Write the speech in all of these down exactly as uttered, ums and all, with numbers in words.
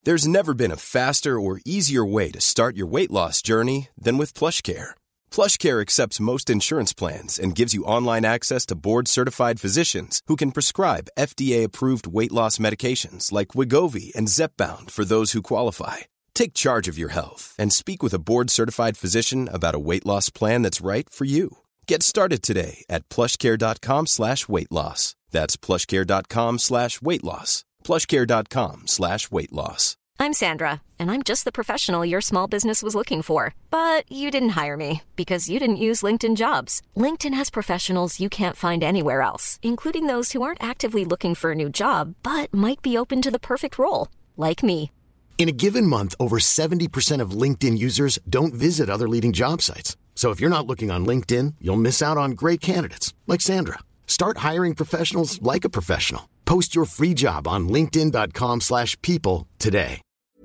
There's never been a faster or easier way to start your weight loss journey than with PlushCare. PlushCare accepts most insurance plans and gives you online access to board-certified physicians who can prescribe F D A-approved weight loss medications like Wegovy and Zepbound for those who qualify. Take charge of your health and speak with a board-certified physician about a weight loss plan that's right for you. Get started today at plushcare.com slash weight loss. That's plushcare.com slash weight loss. plushcare.com slash weight loss. I'm Sandra, and I'm just the professional your small business was looking for. But you didn't hire me because you didn't use LinkedIn Jobs. LinkedIn has professionals you can't find anywhere else, including those who aren't actively looking for a new job, but might be open to the perfect role, like me. In a given month, over seventy percent of LinkedIn users don't visit other leading job sites. So if you're not looking on LinkedIn, you'll miss out on great candidates, like Sandra. Start hiring professionals like a professional. Post your free job on linkedin.com slash people today.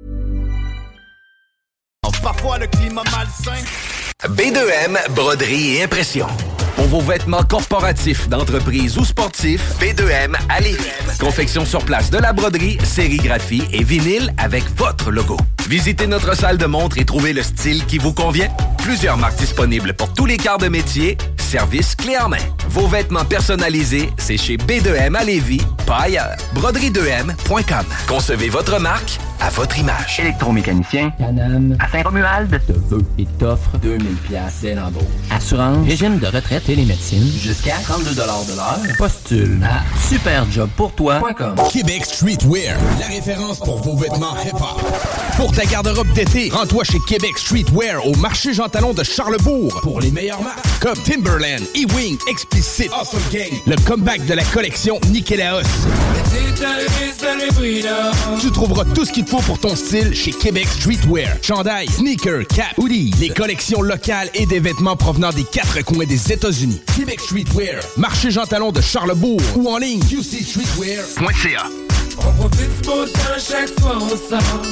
Parfois le climat malsain. B deux M, broderie et impression. Pour vos vêtements corporatifs, d'entreprise ou sportifs, B deux M à Lévis. Confection sur place de la broderie, sérigraphie et vinyle avec votre logo. Visitez notre salle de montre et trouvez le style qui vous convient. Plusieurs marques disponibles pour tous les quarts de métier. Service clé en main. Vos vêtements personnalisés, c'est chez B deux M à Lévis, pas ailleurs. broderie deux M point com. Concevez votre marque à votre image. Électromécanicien, Canam, à Saint-Romuald, te veut et t'offre deux mille dollars dès l'embauche. Assurance, régime de retraite et les médecines, jusqu'à trente-deux dollars de l'heure. Postule à superjob pour toi point com. Québec Streetwear, la référence pour vos vêtements hip-hop. Pour ta garde-robe d'été, rends-toi chez Québec Streetwear au marché Jean Talon de Charlebourg pour les meilleures marques comme Timberland, E-Wing, Explicit, Awesome Gang, le comeback de la collection Nikélaos. Tu trouveras tout ce qu'il te faut pour ton style chez Québec Streetwear. Chandail, sneakers, cap, hoodies, les collections locales et des vêtements provenant des quatre coins des États-Unis. Québec Streetwear, marché Jean Talon de Charlebourg ou en ligne q c streetwear point c a. On profite du beau temps chaque fois on sort.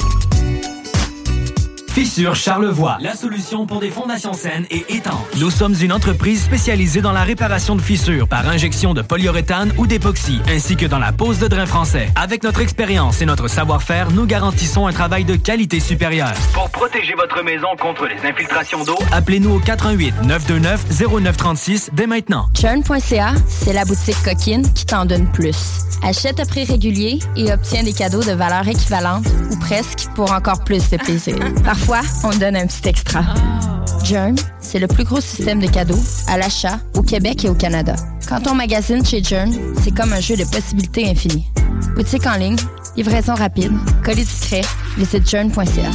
Fissure Charlevoix, la solution pour des fondations saines et étanches. Nous sommes une entreprise spécialisée dans la réparation de fissures par injection de polyuréthane ou d'époxy, ainsi que dans la pose de drain français. Avec notre expérience et notre savoir-faire, nous garantissons un travail de qualité supérieure. Pour protéger votre maison contre les infiltrations d'eau, appelez-nous au quatre un huit, neuf deux neuf, zéro neuf trois six dès maintenant. Churn point c a, c'est la boutique coquine qui t'en donne plus. Achète à prix régulier et obtiens des cadeaux de valeur équivalente ou presque pour encore plus de plaisir. Parfois, on donne un petit extra. Journ, c'est le plus gros système de cadeaux à l'achat au Québec et au Canada. Quand on magasine chez Journ, c'est comme un jeu de possibilités infinies. Boutique en ligne, livraison rapide, colis discret, visite journ point c a.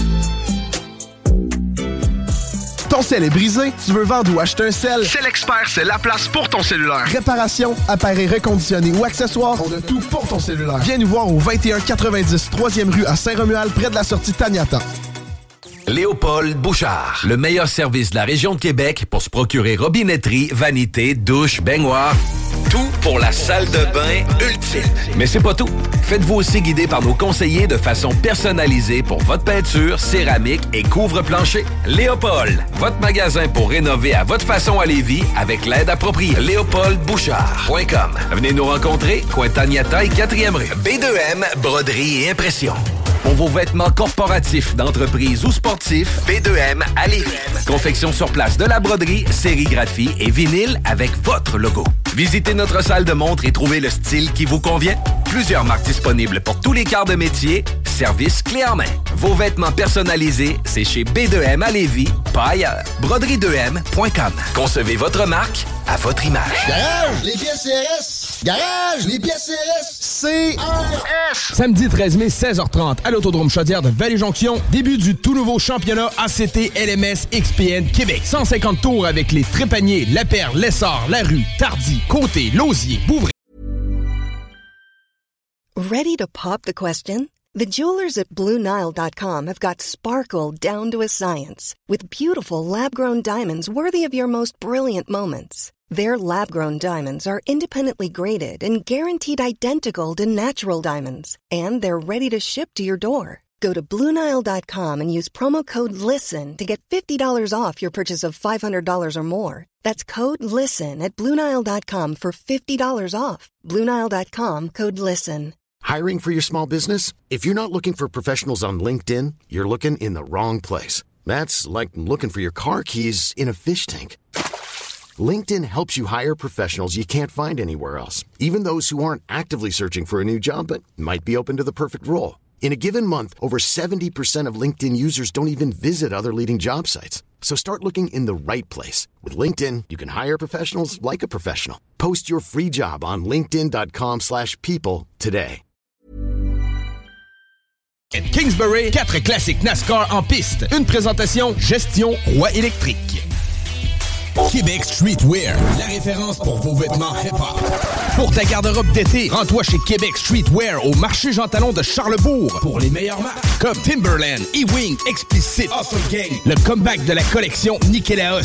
Ton sel est brisé? Tu veux vendre ou acheter un sel? C'est l'expert, c'est la place pour ton cellulaire. Réparation, appareils reconditionnés ou accessoires, on a tout pour ton cellulaire. Viens nous voir au vingt et un quatre-vingt-dix troisième rue à Saint-Romuald, près de la sortie Taniata. Léopold Bouchard, le meilleur service de la région de Québec pour se procurer robinetterie, vanité, douche, baignoire. Tout pour la salle de bain ultime. Mais c'est pas tout. Faites-vous aussi guider par nos conseillers de façon personnalisée pour votre peinture, céramique et couvre-plancher. Léopold, votre magasin pour rénover à votre façon à Lévis avec l'aide appropriée. léopold bouchard point com. Venez nous rencontrer, coin Taniata et quatrième rue. B deux M, broderie et impression. Pour vos vêtements corporatifs, d'entreprise ou sportifs, B deux M à Lévis. Confection sur place de la broderie, sérigraphie et vinyle avec votre logo. Visitez notre salle de montre et trouvez le style qui vous convient. Plusieurs marques disponibles pour tous les quarts de métier. Service clé en main. Vos vêtements personnalisés, c'est chez B deux M à Lévis, pas ailleurs. broderie deux M point com. Concevez votre marque à votre image. Garage, les pièces C R S. Garage, les pièces C R S. C R S. Samedi treize mai, seize heures trente, à l'Autodrome Chaudière de Vallée-Jonction, début du tout nouveau championnat A C T L M S X P N Québec. cent cinquante tours avec les Trépaniers, La Perle, Lessard, La Rue, Tardy, Côté, Lausier, Bouvray. Ready to pop the question? The jewelers at Blue Nile dot com have got sparkle down to a science with beautiful lab-grown diamonds worthy of your most brilliant moments. Their lab-grown diamonds are independently graded and guaranteed identical to natural diamonds, and they're ready to ship to your door. Go to Blue Nile dot com and use promo code LISTEN to get fifty dollars off your purchase of five hundred dollars or more. That's code LISTEN at Blue Nile dot com for fifty dollars off. Blue Nile dot com, code LISTEN. Hiring for your small business? If you're not looking for professionals on LinkedIn, you're looking in the wrong place. That's like looking for your car keys in a fish tank. LinkedIn helps you hire professionals you can't find anywhere else, even those who aren't actively searching for a new job but might be open to the perfect role. In a given month, over seventy percent of LinkedIn users don't even visit other leading job sites. So start looking in the right place. With LinkedIn, you can hire professionals like a professional. Post your free job on linkedin.com slash people today. Kingsbury, quatre classiques NASCAR en piste. Une présentation Gestion Roi électrique. Québec Streetwear, la référence pour vos vêtements hip-hop. Pour ta garde-robe d'été, rends-toi chez Québec Streetwear au marché Jean Talon de Charlebourg pour les meilleures marques comme Timberland, E-Wing, Explicit, Awesome Gang, le comeback de la collection Nikélaos.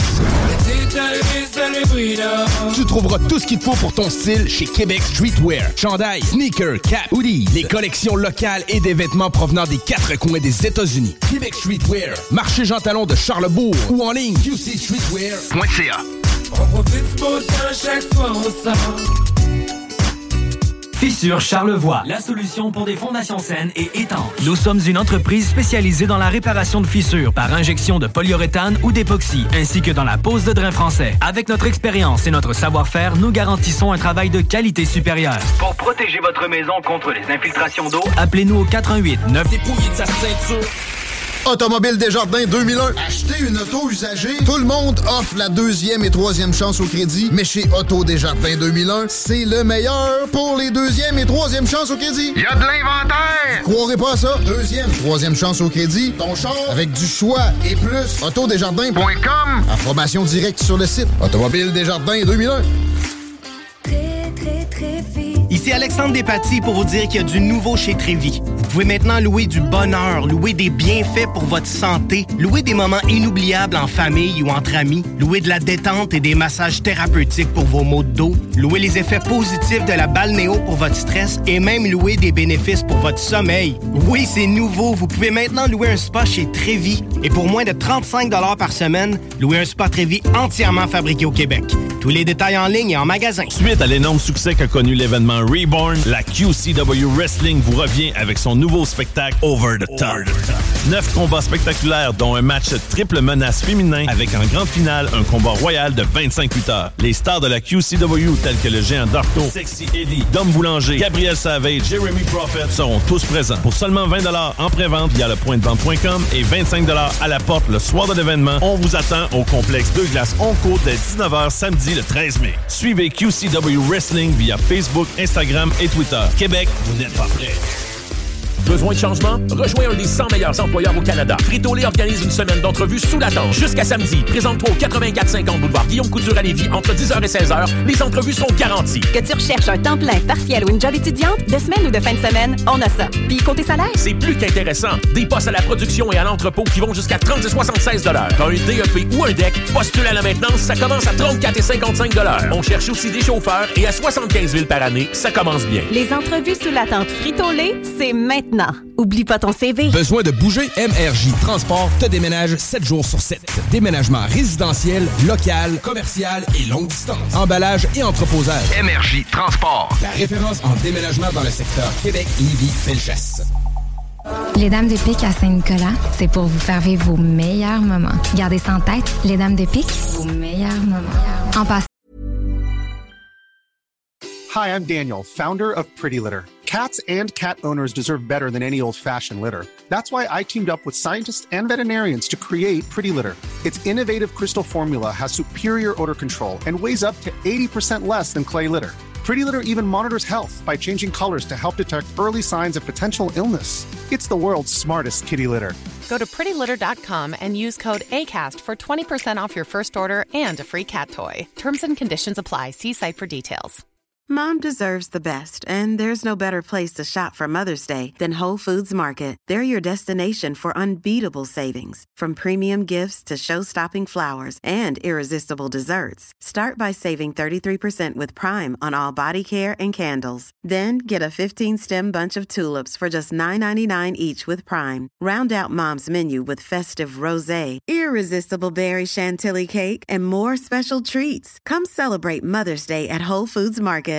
Tu trouveras tout ce qu'il te faut pour ton style chez Québec Streetwear. Chandail, sneakers, cap, hoodies, les collections locales et des vêtements provenant des quatre coins des États-Unis. Québec Streetwear, marché Jean Talon de Charlebourg ou en ligne q c streetwear point c a. On profite du beau temps chaque fois on sort. Fissure Charlevoix, la solution pour des fondations saines et étanches. Nous sommes une entreprise spécialisée dans la réparation de fissures par injection de polyuréthane ou d'époxy, ainsi que dans la pose de drain français. Avec notre expérience et notre savoir-faire, nous garantissons un travail de qualité supérieure. Pour protéger votre maison contre les infiltrations d'eau, appelez-nous au quatre un huit neuf dépouillé de sa ceinture. Automobile Desjardins deux mille un. Achetez une auto usagée. Tout le monde offre la deuxième et troisième chance au crédit. Mais chez Auto Desjardins deux mille un, c'est le meilleur pour les deuxième et troisième chances au crédit. Il y a de l'inventaire! Croirez pas à ça. Deuxième, troisième chance au crédit. Ton char avec du choix et plus. auto desjardins point com. Information directe sur le site. Automobile Desjardins deux mille un. Très, très, très vite. Ici Alexandre Despatie pour vous dire qu'il y a du nouveau chez Trévis. Vous pouvez maintenant louer du bonheur, louer des bienfaits pour votre santé, louer des moments inoubliables en famille ou entre amis, louer de la détente et des massages thérapeutiques pour vos maux de dos, louer les effets positifs de la balnéo pour votre stress et même louer des bénéfices pour votre sommeil. Oui, c'est nouveau. Vous pouvez maintenant louer un spa chez Trévis. Et pour moins de trente-cinq dollars par semaine, louer un spa Trévis entièrement fabriqué au Québec. Tous les détails en ligne et en magasin. Suite à l'énorme succès qu'a connu l'événement Reborn, la Q C W Wrestling vous revient avec son nouveau spectacle Over the Top. Neuf combats spectaculaires, dont un match triple menace féminin avec en grande finale un combat royal de vingt-cinq lutteurs. Les stars de la Q C W tels que le géant Darko, Sexy Eddie, Dom Boulanger, Gabriel Savage, Jeremy Prophet seront tous présents. Pour seulement vingt dollars en pré-vente via le point de vente point com et vingt-cinq dollars à la porte le soir de l'événement, on vous attend au complexe Deux Glaces Onco dès dix-neuf heures samedi le treize mai. Suivez Q C W Wrestling via Facebook, Instagram et Twitter. Québec, vous n'êtes pas prêts. Besoin de changement? Rejoins un des cent meilleurs employeurs au Canada. Frito-Lay organise une semaine d'entrevues sous la tente. Jusqu'à samedi, présente-toi au quatre-vingt-quatre cinquante boulevard Guillaume Couture à Lévis entre dix heures et seize heures. Les entrevues sont garanties. Que tu recherches un temps plein, partiel ou une job étudiante, de semaine ou de fin de semaine, on a ça. Puis côté salaire? C'est plus qu'intéressant. Des postes à la production et à l'entrepôt qui vont jusqu'à trente et soixante-seize dollars. T'as un D E P ou un D E C, postule à la maintenance, ça commence à trente-quatre et cinquante-cinq dollars. On cherche aussi des chauffeurs et à soixante-quinze mille par année, ça commence bien. Les entrevues sous la tente Frito-Lay, c'est maintenant. Oublie pas ton C V. Besoin de bouger? M R J Transport te déménage sept jours sur sept. Déménagement résidentiel, local, commercial et longue distance. Emballage et entreposage. M R J Transport. La référence en déménagement dans le secteur Québec, Lévis, Bellechasse. Les Dames de Pique à Saint-Nicolas, c'est pour vous faire vivre vos meilleurs moments. Gardez ça en tête, les Dames de Pique, vos meilleurs moments. En passant. Hi, I'm Daniel, founder of Pretty Litter. Cats and cat owners deserve better than any old-fashioned litter. That's why I teamed up with scientists and veterinarians to create Pretty Litter. Its innovative crystal formula has superior odor control and weighs up to eighty percent less than clay litter. Pretty Litter even monitors health by changing colors to help detect early signs of potential illness. It's the world's smartest kitty litter. Go to pretty litter dot com and use code ACAST for twenty percent off your first order and a free cat toy. Terms and conditions apply. See site for details. Mom deserves the best, and there's no better place to shop for Mother's Day than Whole Foods Market. They're your destination for unbeatable savings, from premium gifts to show-stopping flowers and irresistible desserts. Start by saving thirty-three percent with Prime on all body care and candles. Then get a fifteen-stem bunch of tulips for just nine ninety-nine each with Prime. Round out Mom's menu with festive rosé, irresistible berry chantilly cake, and more special treats. Come celebrate Mother's Day at Whole Foods Market.